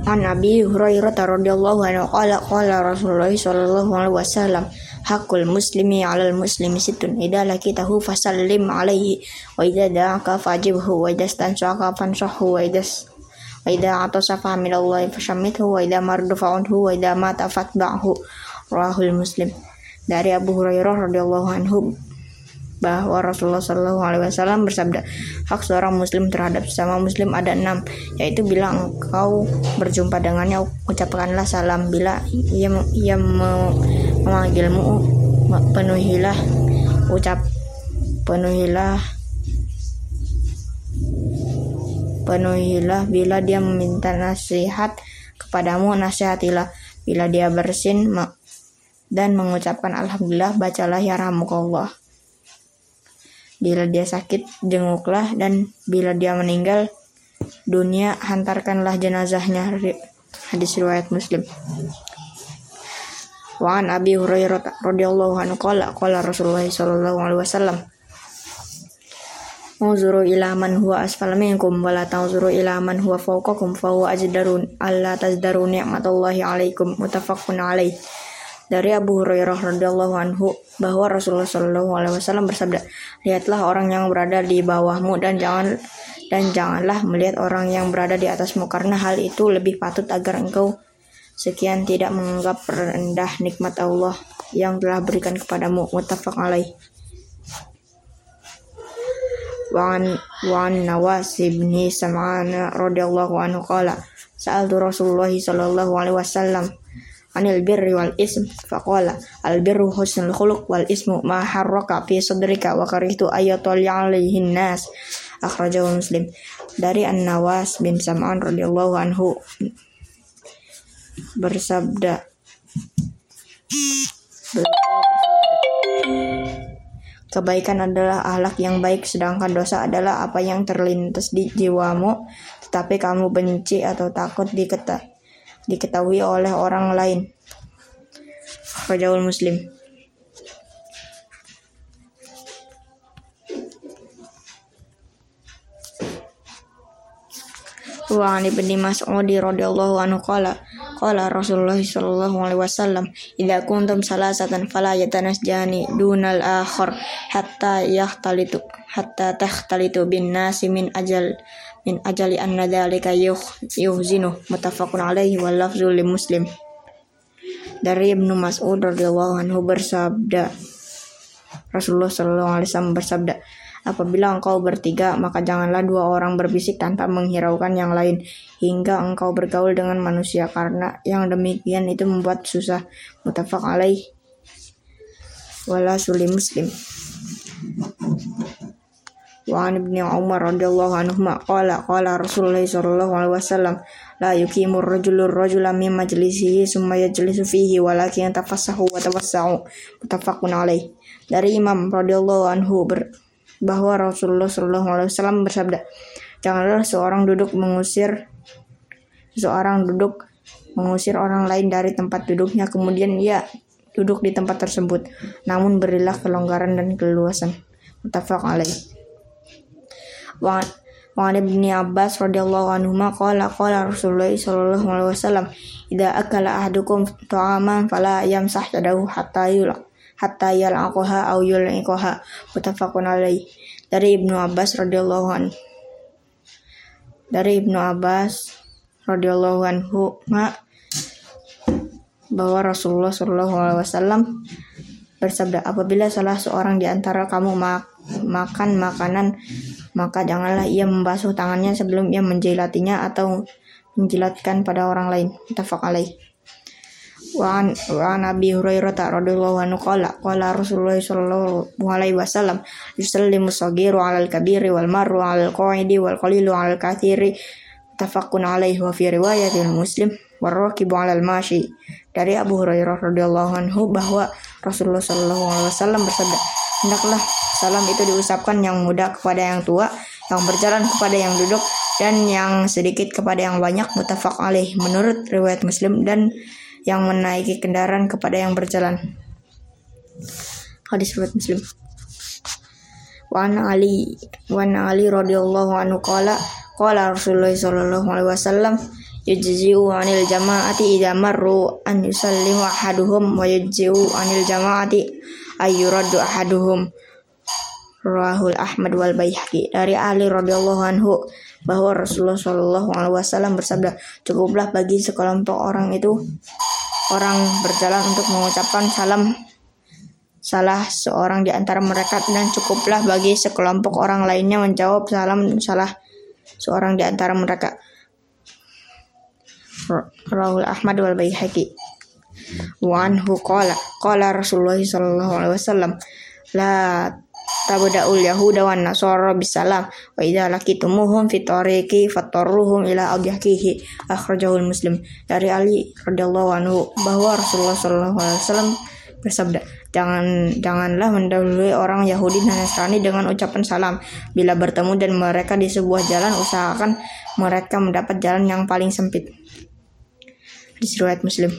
An Abi Hurairah radhiyallahu anhu qala Rasulullah sallallahu alaihi wasallam hakul muslimi 'alal muslimi sittun idza lakitahu fasallim 'alaihi wa idza da'aka fajibhu wa idza stansaka fansahhu wa idza atasa fa minallahi fashammithu wa idza mardu fa'udhu wa idza mata fatba'hu rahul Muslim. Dari Abu Hurairah radhiyallahu anhu bahwa Rasulullah Shallallahu Alaihi Wasallam bersabda, hak seorang muslim terhadap sesama muslim ada 6, yaitu bila engkau berjumpa dengannya ucapkanlah salam, bila ia memanggilmu penuhilah, bila dia meminta nasihat kepadamu nasihatilah, bila dia bersin dan mengucapkan alhamdulillah bacalah yarhamukallah. Bila dia sakit, jenguklah, dan bila dia meninggal dunia, hantarkanlah jenazahnya. Hadis riwayat Muslim. Wa an Abi Hurairah radhiyallahu anhu qala Rasulullah sallallahu alaihi wasallam Unzuru ila man huwa asfala minkum wa la tanzuru ila man huwa fawqakum fa huwa ajdarun alla tazdaru ni'matallahi alaikum. Muttafaqun alaih. Dari Abu Hurairah radhiyallahu anhu bahwa Rasulullah Shallallahu alaihi wasallam bersabda, lihatlah orang yang berada di bawahmu dan janganlah melihat orang yang berada di atasmu, karena hal itu lebih patut agar engkau sekian tidak menganggap rendah nikmat Allah yang telah berikan kepadamu. Muttafaq alaih. Wa an Nawas bin Sam'an radhiyallahu anhu qala sa'altu Rasulullah sallallahu alaihi wasallam anil birri wal ism faqala al birru husnul khuluq wal ismu ma harraka fi sadrika wa karihtu ayatul alaihin nas. Akhrajahu Muslim. Dari An-Nawas bin Sam'an radhiyallahu anhu bersabda, kebaikan adalah akhlak yang baik, sedangkan dosa adalah apa yang terlintas di jiwamu tetapi kamu benci atau takut diketahui oleh orang lain. Akhrajahu Muslim. Wa an Ibnu Mas'ud radhiyallahu anhu qala Rasulullah sallallahu alaihi wasallam idza kuntum salasatan fala yatanasjani dunal akhar hatta takhtalitu bin nasi min ajali anna dzalika yuhzinu. Muttafaqun alaihi wal lafzu li Muslim. Dari Ibnu Mas'ud radhiyallahu anhu bersabda, Rasulullah sallallahu alaihi wasallam bersabda, apabila engkau bertiga, maka janganlah 2 orang berbisik tanpa menghiraukan yang lain hingga engkau bergaul dengan manusia, karena yang demikian itu membuat susah. Muttafaq alaih wala suli Muslim. Wa an Ibnu Umar radhiyallahu anhuma qala Rasulullah sallallahu alaihi wasallam la yuqimur rajula min majlisihi summa yajlisu fihi walakin tafassahu wa tawassa'u. Muttafaqun alaih. Dari Imam radhiyallahu anhu bahwa Rasulullah sallallahu alaihi wasallam bersabda, janganlah seorang duduk mengusir orang lain dari tempat duduknya kemudian ia duduk di tempat tersebut, namun berilah kelonggaran dan keluasan. Muttafaq alaih. Wa an Ibnu Abbas radhiyallahu anhuma qala Rasulullah sallallahu alaihi wasallam idza akala ahadukum ta'aman fala yamsah yadahu hatta yal'aqaha aw yul'iqaha. Muttafaqun alaih. Dari Ibnu Abbas radhiyallahu anhu bahwa Rasulullah sallallahu alaihi wasallam bersabda, apabila salah seorang di antara kamu makan makanan, maka janganlah ia membasuh tangannya sebelum ia menjilatinya atau menjilatkan pada orang lain. Muttafaq alaih. Wa an Abi Hurairah radhiyallahu anhu qala Rasulullah sallallahu alaihi wasallam yusallimu saghiru 'alal kabiri wal marru 'alal qa'idi wal qalilu 'alal katsiri. Muttafaqun alaihi wa fi riwayatil Muslim warakibu 'alal mashi. Dari Abu Hurairah radhiyallahu anhu bahwa Rasulullah sallallahu alaihi wasallam bersabda, hendaklah salam itu diucapkan yang muda kepada yang tua, yang berjalan kepada yang duduk, dan yang sedikit kepada yang banyak. Muttafaq alaih menurut riwayat Muslim, dan yang menaiki kendaraan kepada yang berjalan. Hadis riwayat Muslim. Wa an Ali radhiyallahu anhu qala Rasulullah sallallahu alaihi wasallam yujzi'u 'anil jama'ati idza marru an yusallimu ahaduhum wa yujzi'u 'anil jama'ati ayyuraddu ahaduhum. Rawahul Ahmad wal Baihaqi. Dari Ali radhiyallahu anhu bahwa Rasulullah Shallallahu alaihi wasallam bersabda, cukuplah bagi sekelompok orang berjalan untuk mengucapkan salam salah seorang di antara mereka, dan cukuplah bagi sekelompok orang lainnya menjawab salam salah seorang di antara mereka. Rawahul Ahmad wal Baihaqi. Wa anhu qala Rasulullah sallallahu alaihi wasallam, la tabda'ul yahuda wan nasara bisalam wa idza laqitumuhum fi tariqi fatarruhum ila adhihi. Akhrajahul Muslim. Dari Ali radhiyallahu anhu bahwa Rasulullah sallallahu alaihi wasallam bersabda, janganlah mendahului orang Yahudi dan Nasrani dengan ucapan salam. Bila bertemu dan mereka di sebuah jalan, usahakan mereka mendapat jalan yang paling sempit. Hadis riwayat Muslim.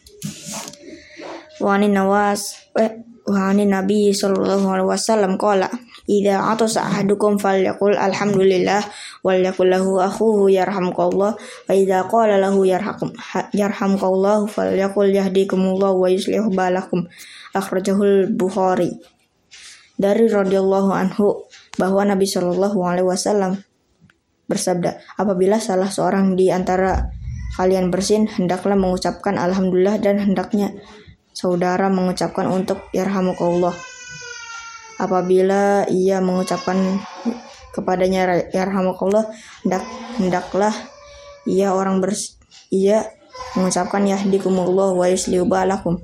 Wa anin Nabi sallallahu alaihi wasallam qala, idza atasa ahadukum falyaqul alhamdulillah wal yaqul lahu akhuhu yarhamukallah, wa idza qala lahu yarhamukallah falyaqul yahdikumullah wa yuslih balakum. Akhrajahul Bukhari. Dari radhiyallahu anhu bahwa Nabi sallallahu alaihi wasallam bersabda, apabila salah seorang di antara kalian bersin, hendaklah mengucapkan alhamdulillah, dan hendaknya saudara mengucapkan untuk yarhamukallah. Apabila ia mengucapkan kepadanya yarhamukallah, hendaklah ia mengucapkan yahdikumullah wa yuslihu balakum.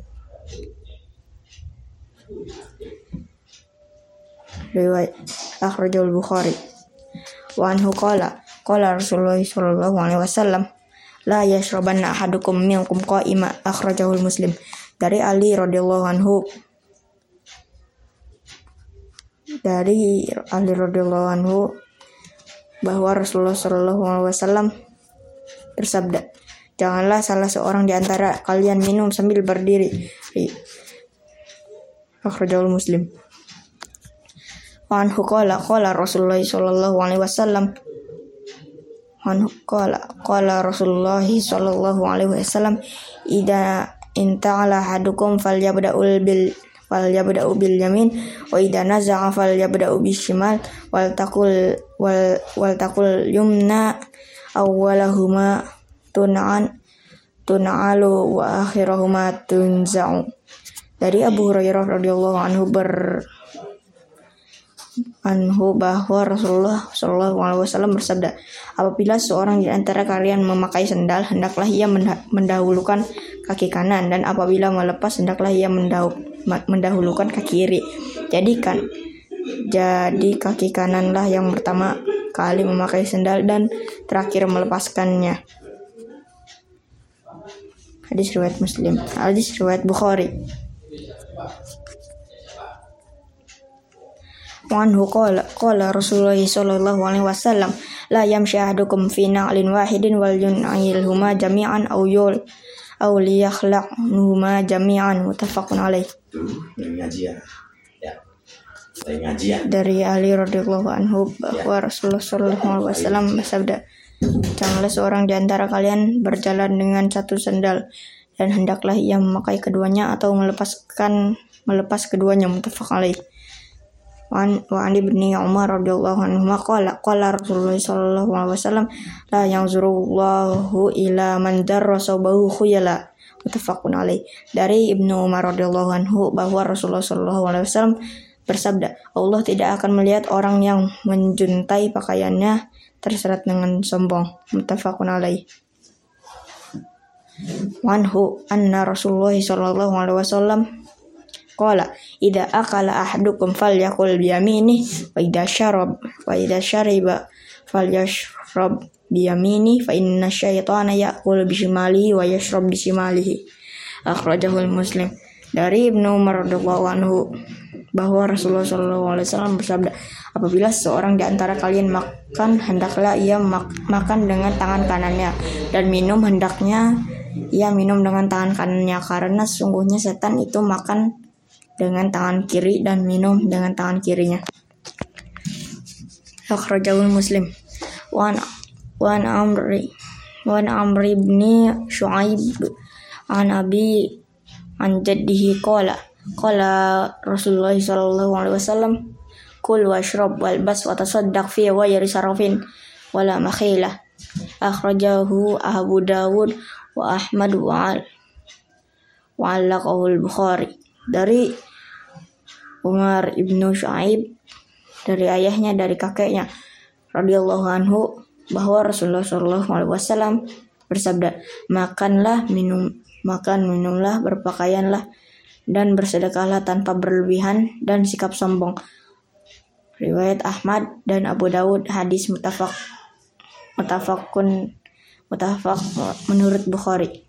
Riwayat akhrajul Bukhari. Wa anhu qala Rasulullah sallallahu alaihi wasallam, la yashrabanna ahadukum minkum qa'ima. Akhrajahul Muslim. Dari Ali radhiyallahu anhu bahwa Rasulullah sallallahu alaihi wasallam bersabda, janganlah salah seorang di antara kalian minum sambil berdiri. Akhrajahul Muslim. Wa anhu qala Rasulullah sallallahu alaihi wasallam idza inta'ala ahadukum falyabda'u bil yamin wa idza naza'a falyabda'u bishimal wal taqul yumna awwalahuma tun'alu wa akhirahuma tunza'u. Dari Abu Hurairah radhiyallahu anhu bahwa Rasulullah sallallahu alaihi wasallam bersabda, apabila seorang di antara kalian memakai sendal, hendaklah ia mendahulukan kaki kanan, dan apabila melepas, hendaklah ia mendahulukan kaki kiri. Jadi kaki kananlah yang pertama kali memakai sendal dan terakhir melepaskannya. Hadis riwayat Muslim. Hadis riwayat Bukhari. Wanhu qala Rasulullah sallallahu alaihi wasallam, la yamshi ahadukum fi na'lin wahidin wal yun'ilhuma jami'an aw liyakhlaqhuma jami'an. Muttafaqun alaih. Dari Ali radhiyallahu anhu bahwa Rasulullah sallallahu alaihi wasallam bersabda, janganlah seorang di antara kalian berjalan dengan satu sendal, dan hendaklah ia memakai keduanya atau melepas keduanya. Muttafaqun alaih. Wa an ibni Umar radhiyallahu anhu qala Rasulullah sallallahu alaihi wasallam, la yanzurullahu ila man darra sawbahu khuyala. Muttafaqun alaih. Dari Ibnu Umar radhiyallahu anhu bahwa Rasulullah sallallahu alaihi wasallam bersabda, Allah tidak akan melihat orang yang menjuntai pakaiannya terseret dengan sombong. Muttafaqun alaih. Wanhu anna Rasulullah sallallahu alaihi wasallam qala, idza akala ahadukum falyakul biyamini wa idza syariba falyashrab biyamini fa inna syaitana ya'kul bishimalihi wa yashrab bishimalihi. Akhrajahul Muslim. Dari Ibnu Umar radhiyallahu anhu bahwa Rasulullah sallallahu alaihi wasallam bersabda, apabila seorang di antara kalian makan, hendaklah ia makan dengan tangan kanannya, dan minum hendaknya ia minum dengan tangan kanannya, karena sesungguhnya setan itu makan dengan tangan kiri dan minum dengan tangan kirinya. Akhrajahul Muslim. Wa Wan Amr ibn Shu'aib an Abi an jaddihi qala Rasulullah sallallahu alaihi wasallam kul washrab walbas wa tasaddaq fi ghayri sarafin wala makhilah. Akhrajahu Abu Dawud wa Ahmad wa allaqahu al-Bukhari. Dari Umar ibnu Shu'aib, dari ayahnya, dari kakeknya radhiyallahu anhu, bahwa Rasulullah sallallahu alaihi wasallam bersabda, minumlah, berpakaianlah, dan bersedekahlah tanpa berlebihan dan sikap sombong. Riwayat Ahmad dan Abu Dawud, hadis mutafaq menurut Bukhari.